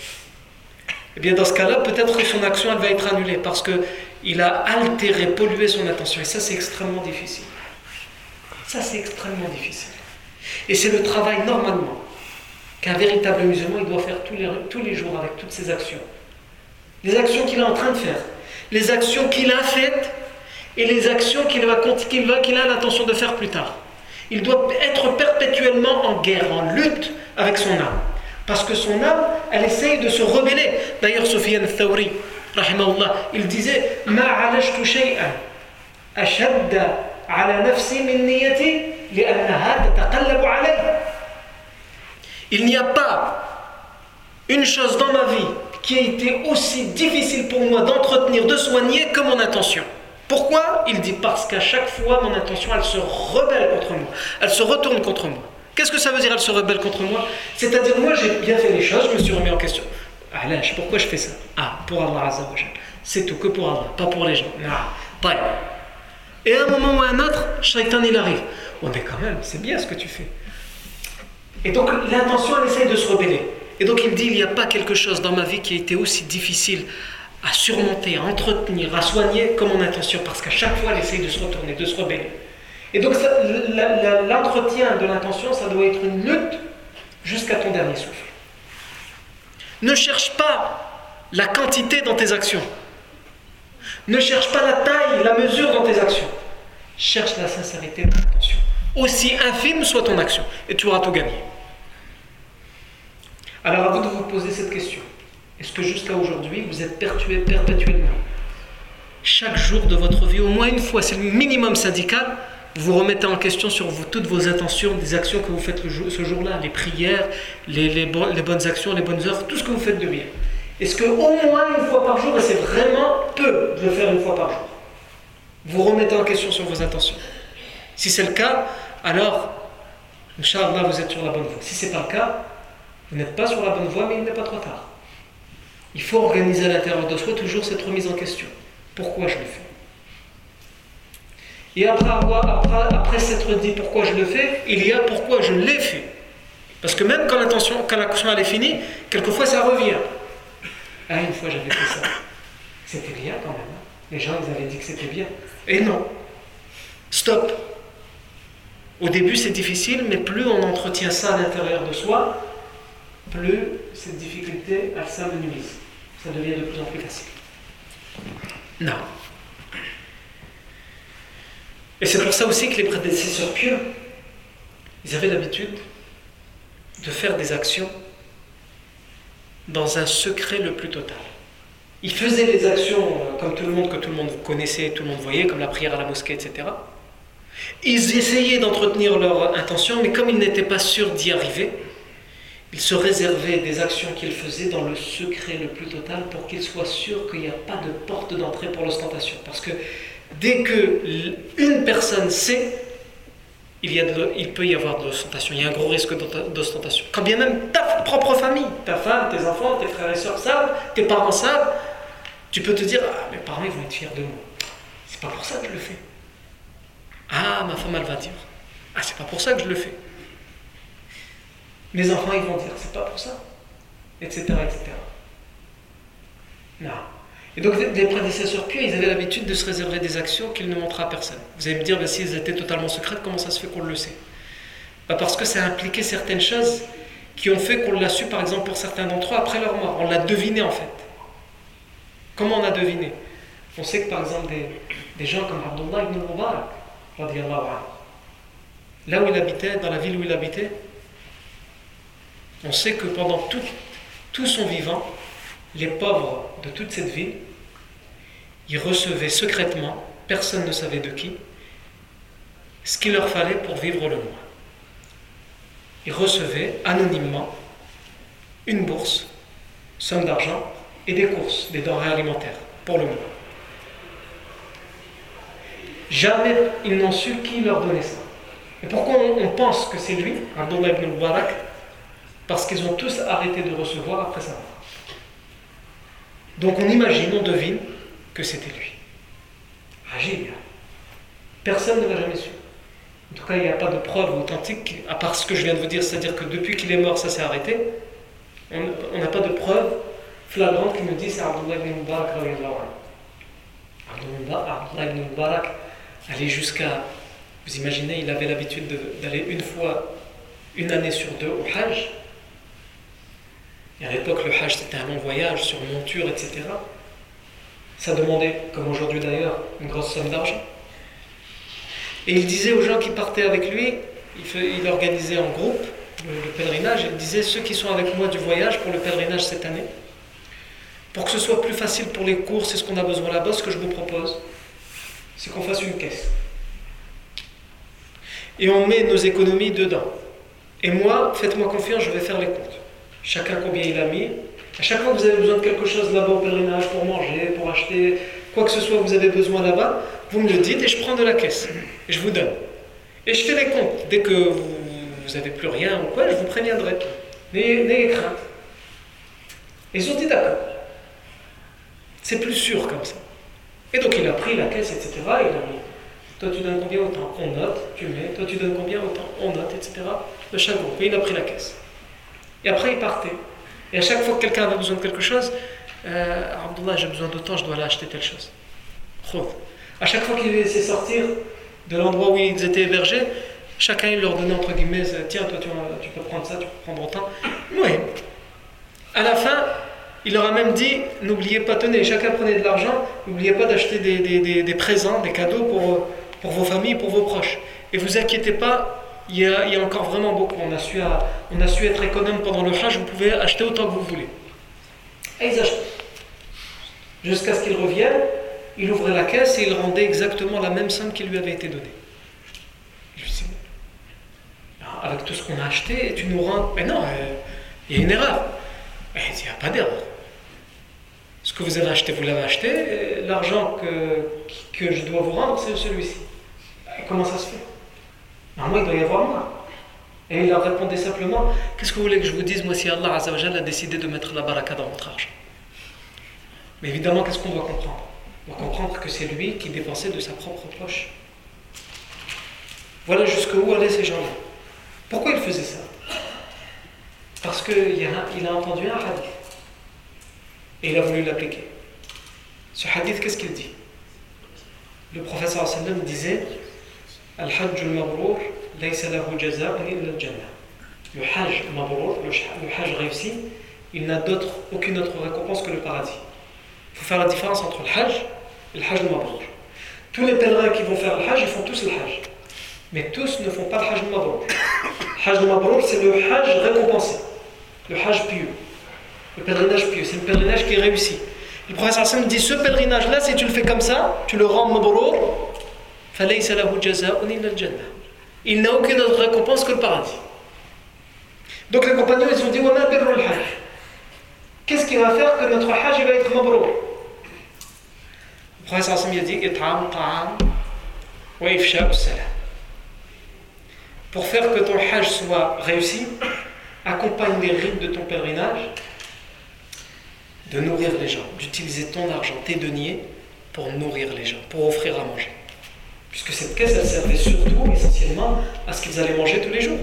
Eh bien dans ce cas-là, peut-être que son action elle va être annulée parce qu'il a altéré, pollué son attention. Et ça, c'est extrêmement difficile. Ça, c'est extrêmement difficile. Et c'est le travail, normalement, qu'un véritable musulman, il doit faire tous les, tous les jours avec toutes ses actions. Les actions qu'il est en train de faire, les actions qu'il a faites et les actions qu'il, va, qu'il, va, qu'il a l'intention de faire plus tard. Il doit être perpétuellement en guerre, en lutte avec son âme. Parce que son âme, elle essaye de se rebeller. D'ailleurs, Sufyan al-Thawri, rahimahullah, il disait « Ma alajtu shay'an ashadda ala nafsi min niyati li'annaha tataqallabu alayha » Il n'y a pas une chose dans ma vie qui a été aussi difficile pour moi d'entretenir, de soigner que mon intention. Pourquoi ? Il dit parce qu'à chaque fois, mon intention, elle se rebelle contre moi. Elle se retourne contre moi. Qu'est-ce que ça veut dire, elle se rebelle contre moi ? C'est-à-dire, moi, j'ai bien fait les choses, je me suis remis en question. Ah là, pourquoi je fais ça ? Ah, pour Allah Azza wa Jalla. C'est tout, que pour Allah, pas pour les gens. Non, et à un moment ou à un autre, Shaitan, il arrive. Oh, mais quand même, c'est bien ce que tu fais. Et donc l'intention, elle essaye de se rebeller. Et donc il dit, il n'y a pas quelque chose dans ma vie qui a été aussi difficile à surmonter, à entretenir, à soigner que mon intention. Parce qu'à chaque fois, elle essaye de se retourner, de se rebeller. Et donc ça, la, la, l'entretien de l'intention, ça doit être une lutte jusqu'à ton dernier souffle. Ne cherche pas la quantité dans tes actions. Ne cherche pas la taille, la mesure dans tes actions. Cherche la sincérité de l'intention. Aussi infime soit ton action, et tu auras tout gagné. Alors à vous de vous poser cette question. Est-ce que jusqu'à aujourd'hui, vous êtes perpétuellement, chaque jour de votre vie, au moins une fois, c'est le minimum syndical, vous remettez en question sur vous, toutes vos intentions, des actions que vous faites le jour, ce jour-là, les prières, les, les, bon, les bonnes actions, les bonnes œuvres, tout ce que vous faites de bien. Est-ce qu'au moins une fois par jour, et c'est vraiment peu de le faire une fois par jour, vous remettez en question sur vos intentions? Si c'est le cas, alors, Inch'Allah, vous êtes sur la bonne voie. Si ce n'est pas le cas, vous n'êtes pas sur la bonne voie, mais il n'est pas trop tard. Il faut organiser à l'intérieur de soi toujours cette remise en question. Pourquoi je le fais ? Et après, avoir, après, après s'être dit pourquoi je le fais, il y a pourquoi je l'ai fait. Parce que même quand l'intention, quand l'action elle est finie, quelquefois ça revient. Ah, une fois j'avais fait ça. C'était bien quand même. Hein. Les gens ils avaient dit que c'était bien. Et non. Stop. Au début c'est difficile, mais plus on entretient ça à l'intérieur de soi, plus cette difficulté elle s'amenuise. Ça devient de plus en plus facile. Non. Et c'est pour ça aussi que les prédécesseurs pieux, ils avaient l'habitude de faire des actions dans un secret le plus total. Ils faisaient des actions comme tout le monde, que tout le monde connaissait, tout le monde voyait, comme la prière à la mosquée, et cetera. Ils essayaient d'entretenir leur intention, mais comme ils n'étaient pas sûrs d'y arriver, ils se réservaient des actions qu'ils faisaient dans le secret le plus total pour qu'ils soient sûrs qu'il n'y a pas de porte d'entrée pour l'ostentation. Parce que dès qu'une personne sait, il, y a de, il peut y avoir de l'ostentation, il y a un gros risque d'ostentation. Quand bien même ta propre famille, ta femme, tes enfants, tes frères et sœurs savent, tes parents savent, tu peux te dire « Ah, mes parents ils vont être fiers de moi. C'est pas pour ça que je le fais. Ah, ma femme elle va dire « Ah, c'est pas pour ça que je le fais. » Mes enfants ils vont dire « C'est pas pour ça. » Etc. et cetera. Non. Et donc les prédécesseurs pieux, ils avaient l'habitude de se réserver des actions qu'ils ne montraient à personne. Vous allez me dire, ben, si elles étaient totalement secrètes, comment ça se fait qu'on le sait? Ben, parce que ça impliquait certaines choses qui ont fait qu'on l'a su, par exemple, pour certains d'entre eux, après leur mort. On l'a deviné, en fait. Comment on a deviné? On sait que, par exemple, des, des gens comme Abdullah ibn Mubarak, là où il habitait, dans la ville où il habitait, on sait que pendant tout, tout son vivant, les pauvres de toute cette ville, ils recevaient secrètement, personne ne savait de qui, ce qu'il leur fallait pour vivre le mois. Ils recevaient anonymement une bourse, somme d'argent et des courses, des denrées alimentaires pour le mois. Jamais ils n'ont su qui leur donnait ça. Et pourquoi on, on pense que c'est lui, Abdullah ibn Mubarak? Parce qu'ils ont tous arrêté de recevoir après sa mort. Donc on imagine, on devine que c'était lui. Agile. Personne ne l'a jamais su. En tout cas, il n'y a pas de preuve authentique, à part ce que je viens de vous dire, c'est-à-dire que depuis qu'il est mort, ça s'est arrêté. On n'a pas de preuve flagrante qui nous dit c'est Abdullah ibn Mubarak. Abdullah ibn Mubarak allait jusqu'à... Vous imaginez, il avait l'habitude de, d'aller une fois, une année sur deux au Hajj. Et à l'époque, le Hajj, c'était un long voyage sur monture, et cetera. Ça demandait, comme aujourd'hui d'ailleurs, une grosse somme d'argent. Et il disait aux gens qui partaient avec lui, il, fait, il organisait en groupe le, le pèlerinage, il disait, ceux qui sont avec moi du voyage pour le pèlerinage cette année, pour que ce soit plus facile pour les courses et ce qu'on a besoin là-bas, ce que je vous propose, c'est qu'on fasse une caisse. Et on met nos économies dedans. Et moi, faites-moi confiance, je vais faire les comptes. Chacun combien il a mis. À chaque fois que vous avez besoin de quelque chose là-bas au pèlerinage, pour manger, pour acheter, quoi que ce soit vous avez besoin là-bas, vous me le dites et je prends de la caisse. Et je vous donne. Et je fais les comptes. Dès que vous n'avez plus rien ou quoi, je vous préviendrai. N'ayez, n'ayez crainte. Et ils ont dit d'accord. C'est plus sûr comme ça. Et donc il a pris la caisse, et cetera. Il a mis. Toi tu donnes combien autant? On note, tu mets. Toi tu donnes combien autant? On note, et cetera. De chaque groupe. Et il a pris la caisse. Et après il partait. Et à chaque fois que quelqu'un avait besoin de quelque chose, euh, Abdullah, j'ai besoin d'autant, je dois aller acheter telle chose. À chaque fois qu'il les laissait sortir de l'endroit où ils étaient hébergés, chacun il leur donnait entre guillemets, tiens, toi tu, tu peux prendre ça, tu peux prendre autant. Oui. À la fin, il leur a même dit, n'oubliez pas, tenez, chacun prenait de l'argent, n'oubliez pas d'acheter des, des, des, des présents, des cadeaux pour, pour vos familles, pour vos proches. Et vous inquiétez pas, il y a, il y a encore vraiment beaucoup. On a, su, on a su être économe pendant le Hajj, vous pouvez acheter autant que vous voulez. Et ils achetaient. Jusqu'à ce qu'ils reviennent, il ouvrait la caisse et il rendait exactement la même somme qui lui avait été donnée. Je lui dis, avec tout ce qu'on a acheté, tu nous rends... Mais non, euh, il y a une erreur. Et il dit, il n'y a pas d'erreur. Ce que vous avez acheté, vous l'avez acheté, l'argent que, que je dois vous rendre, c'est celui-ci. Et comment ça se fait? Normalement, il doit y avoir moins. Et il leur répondait simplement, qu'est-ce que vous voulez que je vous dise, moi, si Allah Azza wa Jalla a décidé de mettre la baraka dans votre argent? Mais évidemment, qu'est-ce qu'on doit comprendre? On doit comprendre que c'est lui qui dépensait de sa propre poche. Voilà jusqu'où allaient ces gens-là. Pourquoi ils faisaient ça? Parce qu'il a, il a entendu un hadith et il a voulu l'appliquer. Ce hadith, qu'est-ce qu'il dit? Le prophète sallallahu alayhi wa sallam disait Al-Hajj al-Mabrour laysa lahu jaza'un illa al-Jannah. Le Hajj Mabrour, le Hajj réussi, il n'a d'autre, aucune autre récompense que le paradis. Il faut faire la différence entre le Hajj et le Hajj Mabrour. Tous les pèlerins qui vont faire le Hajj, ils font tous le Hajj. Mais tous ne font pas le Hajj Mabrour. Le Hajj Mabrour, c'est le Hajj récompensé, le Hajj pieux, le pèlerinage pieux, c'est le pèlerinage qui est réussi. Le professeur Hassan dit ce pèlerinage-là, si tu le fais comme ça, tu le rends Mabrour, falaysa lahu jaza'un illa al-Jannah. Il n'a aucune autre récompense que le paradis. Donc les compagnons, ils ont dit wa ma birru al-Hajj. Qu'est-ce qui va faire que notre Hajj va être Mabrour? Le professeur Hassan a dit it'am ta'am wa ifsha'u salam. Pour faire que ton Hajj soit réussi, accompagne les rites de ton pèlerinage de nourrir les gens, d'utiliser ton argent, tes deniers, pour nourrir les gens, pour offrir à manger. Puisque cette caisse, elle servait surtout, essentiellement, à ce qu'ils allaient manger tous les jours.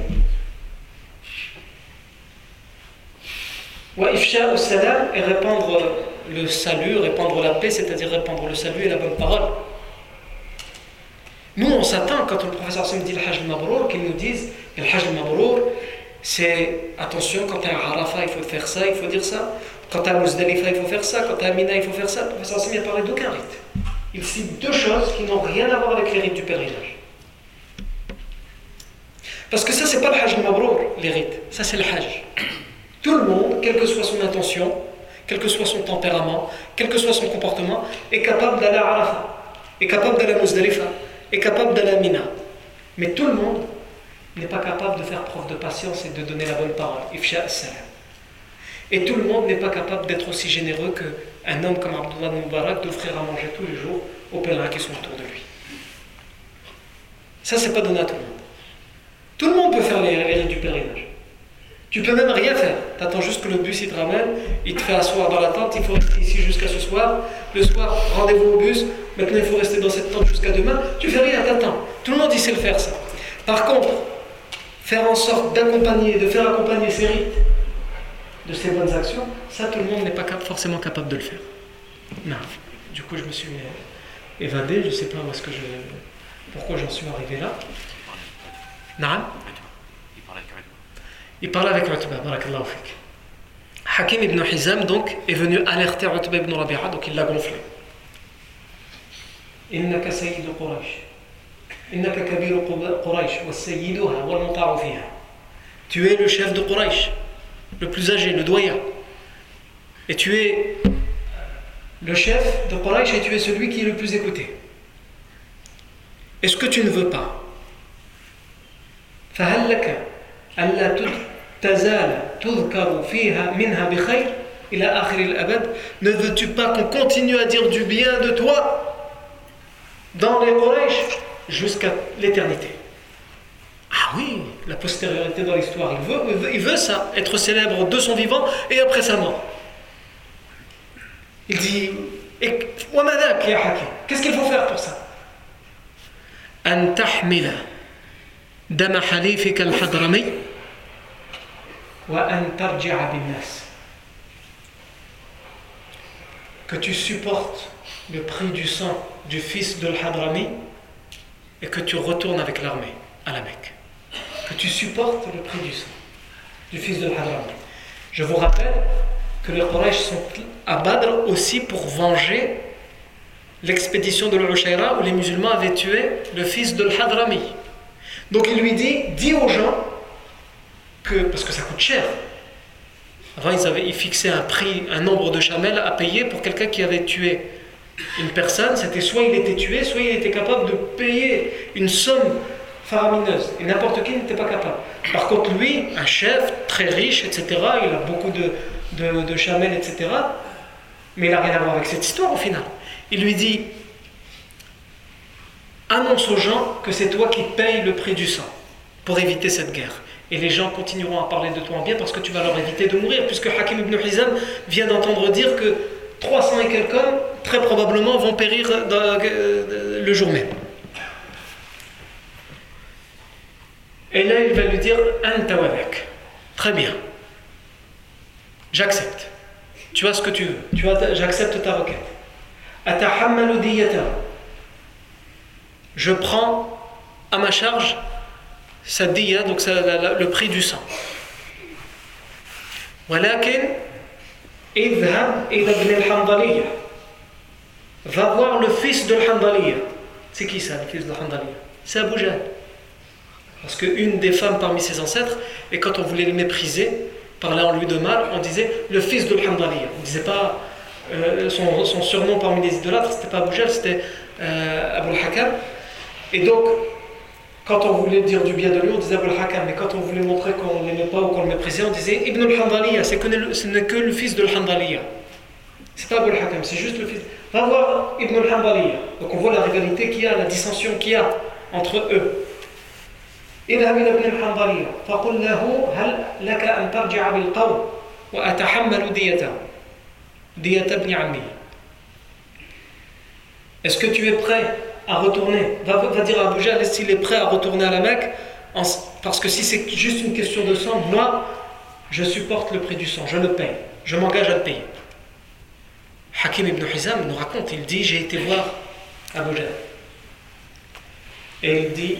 Wa ifsha al-salam, et répandre le salut, répandre la paix, c'est-à-dire répandre le salut et la bonne parole. Nous, on s'attend, quand le professeur Hassan dit le Hajj al-Mabrour, qu'il nous dise que le Hajj al-Mabrour, c'est attention, quand tu es à Arafat, il faut faire ça, il faut dire ça. Quand tu es à Muzdalifa, il faut faire ça. Quand tu es à Mina, il faut faire ça. Le professeur Hassan a parlé d'aucun rite. Il cite deux choses qui n'ont rien à voir avec les rites du pèlerinage. Parce que ça, c'est pas le Hajj al-Mabrour, les rites. Ça, c'est le Hajj. Tout le monde, quelle que soit son intention, quel que soit son tempérament, quel que soit son comportement, est capable d'aller à Arafat, est capable d'aller à Muzdalifa, est capable d'aller à Mina. Mais tout le monde n'est pas capable de faire preuve de patience et de donner la bonne parole. Ifsha as-salam. Et tout le monde n'est pas capable d'être aussi généreux qu'un homme comme Abdullah Mubarak d'offrir à manger tous les jours aux pèlerins qui sont autour de lui. Ça, c'est pas donné à tout le monde. Tout le monde peut faire les, les rites du pèlerinage. Tu peux même rien faire. Tu attends juste que le bus il te ramène, il te fait asseoir dans la tente, il faut rester ici jusqu'à ce soir. Le soir, rendez-vous au bus, maintenant il faut rester dans cette tente jusqu'à demain. Tu fais rien, t'attends. Tout le monde il sait le faire ça. Par contre, faire en sorte d'accompagner, de faire accompagner ces rites de ces bonnes actions, ça tout le monde n'est pas cap- forcément capable de le faire. Non. Du coup je me suis évadé, je ne sais pas où est-ce que je, pourquoi j'en suis arrivé là. Non. Il parlait avec Utba, barakallahu fik. Hakim ibn Hizam donc est venu alerter Utba ibn Rabi'a, donc il l'a gonflé. Innaka sayyidu Quraysh. Innaka kabiru Quraysh wa sayyiduha wal muta'u fiha. Tu es le chef de Quraysh, le plus âgé, le doyen. Et tu es le chef de Quraysh et tu es celui qui est le plus écouté. Est-ce que tu ne veux pas فهل لك ألا تزال تذكر فيها منها بخير إلى آخر الأبد? Ne veux-tu pas qu'on continue à dire du bien de toi dans les Quraysh jusqu'à l'éternité? Ah oui, la postériorité dans l'histoire, il veut, il veut, il veut ça, être célèbre de son vivant et après sa mort. Il dit, qu'est-ce qu'il faut faire pour ça? أن تحمل دم حليفك الحضرمي وأن ترجع بالناس. Que tu supportes le prix du sang du fils de l'Hadrami et que tu retournes avec l'armée à la Mecque. Que tu supportes le prix du sang du fils de l'Hadrami. Je vous rappelle que les Quraysh sont à Badr aussi pour venger l'expédition de l'Ushayra où les musulmans avaient tué le fils de l'Hadrami. Donc il lui dit, dis aux gens que, parce que ça coûte cher. Avant ils avaient ils fixaient un prix, un nombre de chamels à payer pour quelqu'un qui avait tué une personne. C'était soit il était tué, soit il était capable de payer une somme faramineuse. Et n'importe qui n'était pas capable. Par contre lui, un chef très riche, et cetera, il a beaucoup de, de, de chamels, et cetera. Mais il n'a rien à voir avec cette histoire au final. Il lui dit, annonce aux gens que c'est toi qui payes le prix du sang pour éviter cette guerre. Et les gens continueront à parler de toi en bien parce que tu vas leur éviter de mourir, puisque Hakim ibn Hizam vient d'entendre dire que trois cents et quelques hommes, très probablement, vont périr dans, euh, le jour même. Et là, il va lui dire Anta wadak. Très bien. j'accepte. Tu as ce que tu veux. Tu as, j'accepte ta requête. Atahammalu diyata. Je prends à ma charge sa diya, donc ça, la, la, le prix du sang. Walakin idhab ila ibn al-Handaliya. Va voir le fils de al-Handaliya. C'est qui ça, le fils de al-Handaliya? C'est Abu Jahl. Parce qu'une des femmes parmi ses ancêtres, et quand on voulait le mépriser, parlant lui de mal, on disait le fils de al-Handaliya. On ne disait pas euh, son, son surnom parmi les idolâtres, c'était pas Abu Jahl, c'était euh, Abu al-Hakam. Et donc, quand on voulait dire du bien de lui, on disait Abu al-Hakam. Mais quand on voulait montrer qu'on ne l'aimait pas ou qu'on le méprisait, on disait Ibn al-Handaliya. C'est que le, ce n'est que le fils de al-Handaliya. C'est pas Abu al-Hakam, c'est juste le fils. Va voir Ibn al-Handaliya. Donc on voit la rivalité qu'il y a, la dissension qu'il y a entre eux. اذهب إلى ابن الحنظلية فقل له هل لك أن ترجع بالقوم وأتحمل ديته دية ابن عمي. Est-ce que tu es prêt à retourner? Va, va dire à Abu Jahl s'il est prêt à retourner à la Mecque, en, parce que si c'est juste une question de sang, moi je supporte le prix du sang, je le paye, je m'engage à le payer. Hakim ibn Hizam nous raconte, il dit j'ai été voir Abu Jahl et il dit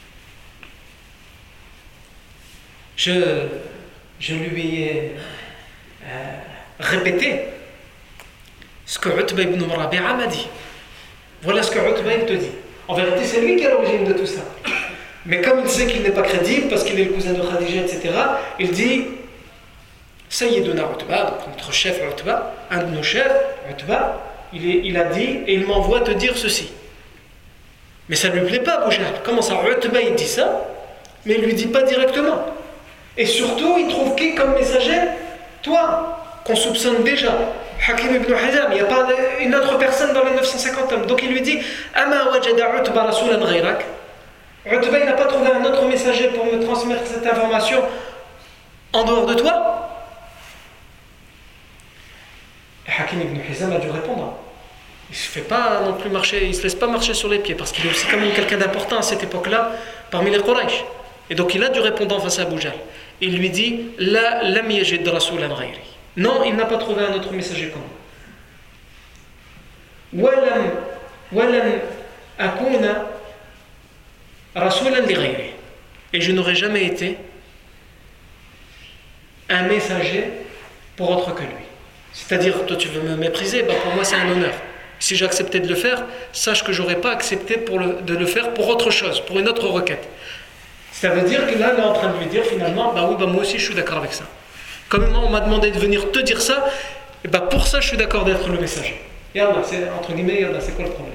Je, je lui ai euh, répété ce que Utba ibn Rabi'a m'a dit. Voilà ce que Utba il te dit. En vérité, c'est lui qui est à l'origine de tout ça. Mais comme il sait qu'il n'est pas crédible, parce qu'il est le cousin de Khadija, et cetera, il dit Sayyiduna Utba, donc notre chef Utba, un de nos chefs, Utba, il, est, il a dit, et il m'envoie te dire ceci. Mais ça ne lui plaît pas, Abu Jahl. Comment ça, Utba il dit ça, mais il ne lui dit pas directement. Et surtout, il trouve qui comme messager? Toi, qu'on soupçonne déjà. Hakim ibn Hizam, il n'y a pas une autre personne dans les neuf cent cinquante hommes. Donc il lui dit Ama wajada Utba rasulan ghayrak. Utba, il n'a pas trouvé un autre messager pour me transmettre cette information en dehors de toi? Et Hakim ibn Hizam a dû répondre. Il ne se fait pas non plus marcher, il ne se laisse pas marcher sur les pieds parce qu'il est aussi quand même quelqu'un d'important à cette époque-là parmi les Quraysh. Et donc il a dû répondre face à Abu Jahl. Il lui dit La lam yajid rasulan ghayri. Non, il n'a pas trouvé un autre messager comme moi. Walam walam akuna rasulan li ghayri. Et je n'aurais jamais été un messager pour autre que lui. C'est-à-dire, toi tu veux me mépriser, bah pour moi c'est un honneur. Si j'acceptais de le faire, sache que j'aurais pas accepté pour le, de le faire pour autre chose, pour une autre requête. Ça veut dire que là, on est en train de lui dire finalement, bah oui, bah moi aussi je suis d'accord avec ça. Comme on m'a demandé de venir te dire ça, et bah pour ça je suis d'accord d'être le messager. Yallah, c'est entre guillemets, yallah, c'est quoi le problème?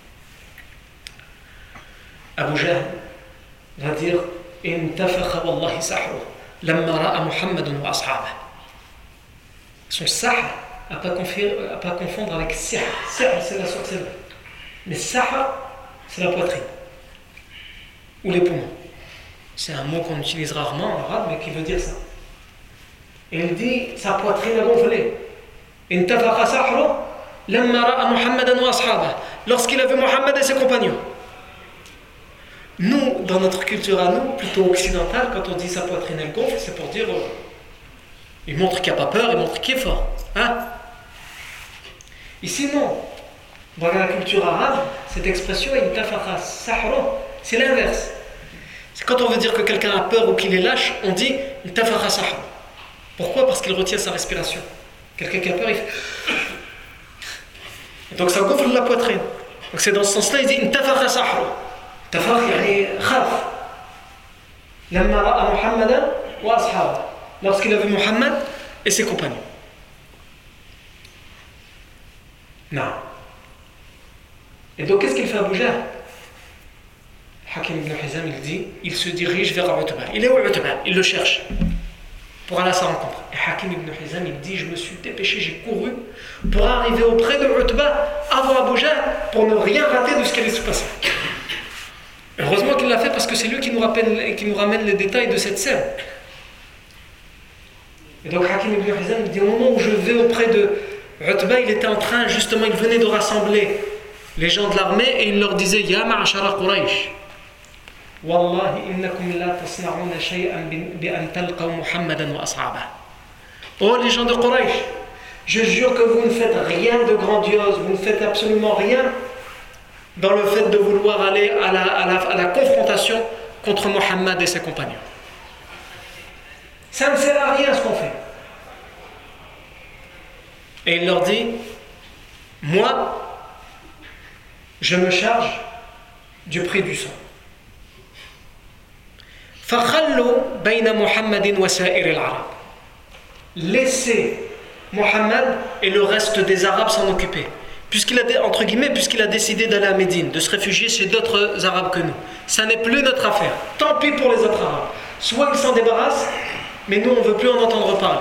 Abu Jahl va dire Intafakha wallahi sahru lamma ra'a Muhammadan wa ashabah. Son sahr à pas confondre, à pas confondre avec sihr. Sihr c'est la sorcellerie. Mais sahr c'est la poitrine ou les poumons. C'est un mot qu'on utilise rarement en arabe, mais qui veut dire ça. Et il dit, sa poitrine a gonflé. Intafaqa sahru lamma ra'a Muhammadan wa ashabah. Lorsqu'il a vu Muhammad et ses compagnons. Nous, dans notre culture à nous, plutôt occidentale, quand on dit sa poitrine elle gonfle, c'est pour dire, euh, il montre qu'il n'a pas peur, il montre qu'il est fort. Hein? Ici, non. Dans la culture arabe, cette expression, intafaqa sahru, c'est l'inverse. C'est quand on veut dire que quelqu'un a peur ou qu'il est lâche, on dit Intafakha sahru. Pourquoi? Parce qu'il retient sa respiration. Quelqu'un qui a peur, il fait. Et donc ça gonfle la poitrine. Donc c'est dans ce sens-là, il dit Intafakha sahru. Intafakha, yani khaf. Lamma ra'a Muhammadan wa ashabah. Lorsqu'il a vu Muhammad et ses compagnons. Non. Et donc qu'est-ce qu'il fait Abu Jahl? Hakim ibn Hizam, il dit, il se dirige vers Utba. Il est où Utba? Il le cherche pour aller à sa rencontre. Et Hakim ibn Hizam, il dit, je me suis dépêché, j'ai couru pour arriver auprès de Utba avant Abu Jahl pour ne rien rater de ce qui allait se passer. Heureusement qu'il l'a fait parce que c'est lui qui nous, rappelle, qui nous ramène les détails de cette scène. Et donc Hakim ibn Hizam, il dit, au moment où je vais auprès de Utba, il était en train, justement, il venait de rassembler les gens de l'armée et il leur disait, Ya ma'ashara Quraysh. Wallahi innakum la tasna'una shay'an bi an talqaw Muhammadan wa ashabah. Oh les gens de Quraysh, je jure que vous ne faites rien de grandiose, vous ne faites absolument rien dans le fait de vouloir aller à la, à la, à la confrontation contre Mohammed et ses compagnons. Ça ne sert à rien ce qu'on fait. Et il leur dit, moi, je me charge du prix du sang. فَخَلُّوا بَيْنَ مُحَمَّدٍ وَسَائِرِ الْعَرَبِ. Laissez Mohammed et le reste des Arabes s'en occuper. Puisqu'il a, entre guillemets, puisqu'il a décidé d'aller à Médine, de se réfugier chez d'autres Arabes que nous. Ça n'est plus notre affaire. Tant pis pour les autres Arabes. Soit ils s'en débarrassent, mais nous on ne veut plus en entendre parler.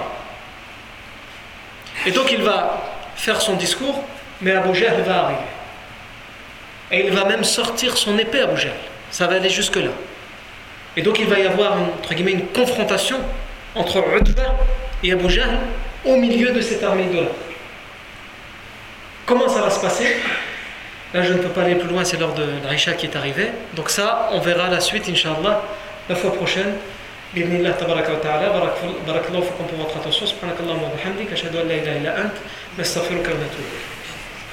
Et donc il va faire son discours, mais Abu Jahl va arriver. Et il va même sortir son épée, Abu Jahl. Ça va aller jusque-là. Et donc il va y avoir, entre guillemets, une confrontation entre Utbah et Abu Jahl au milieu de cette armée idolâtre. Comment ça va se passer? Là je ne peux pas aller plus loin, c'est l'heure de l'Aïcha qui est arrivée. Donc ça, on verra la suite, Inch'Allah, la fois prochaine. بإذن الله تبارك وتعالى. بارك الله فيكم pour votre attention. سبحانك اللهم وبحمدك أشهد أن لا إله إلا أنت نستغفرك ونتوب إليك.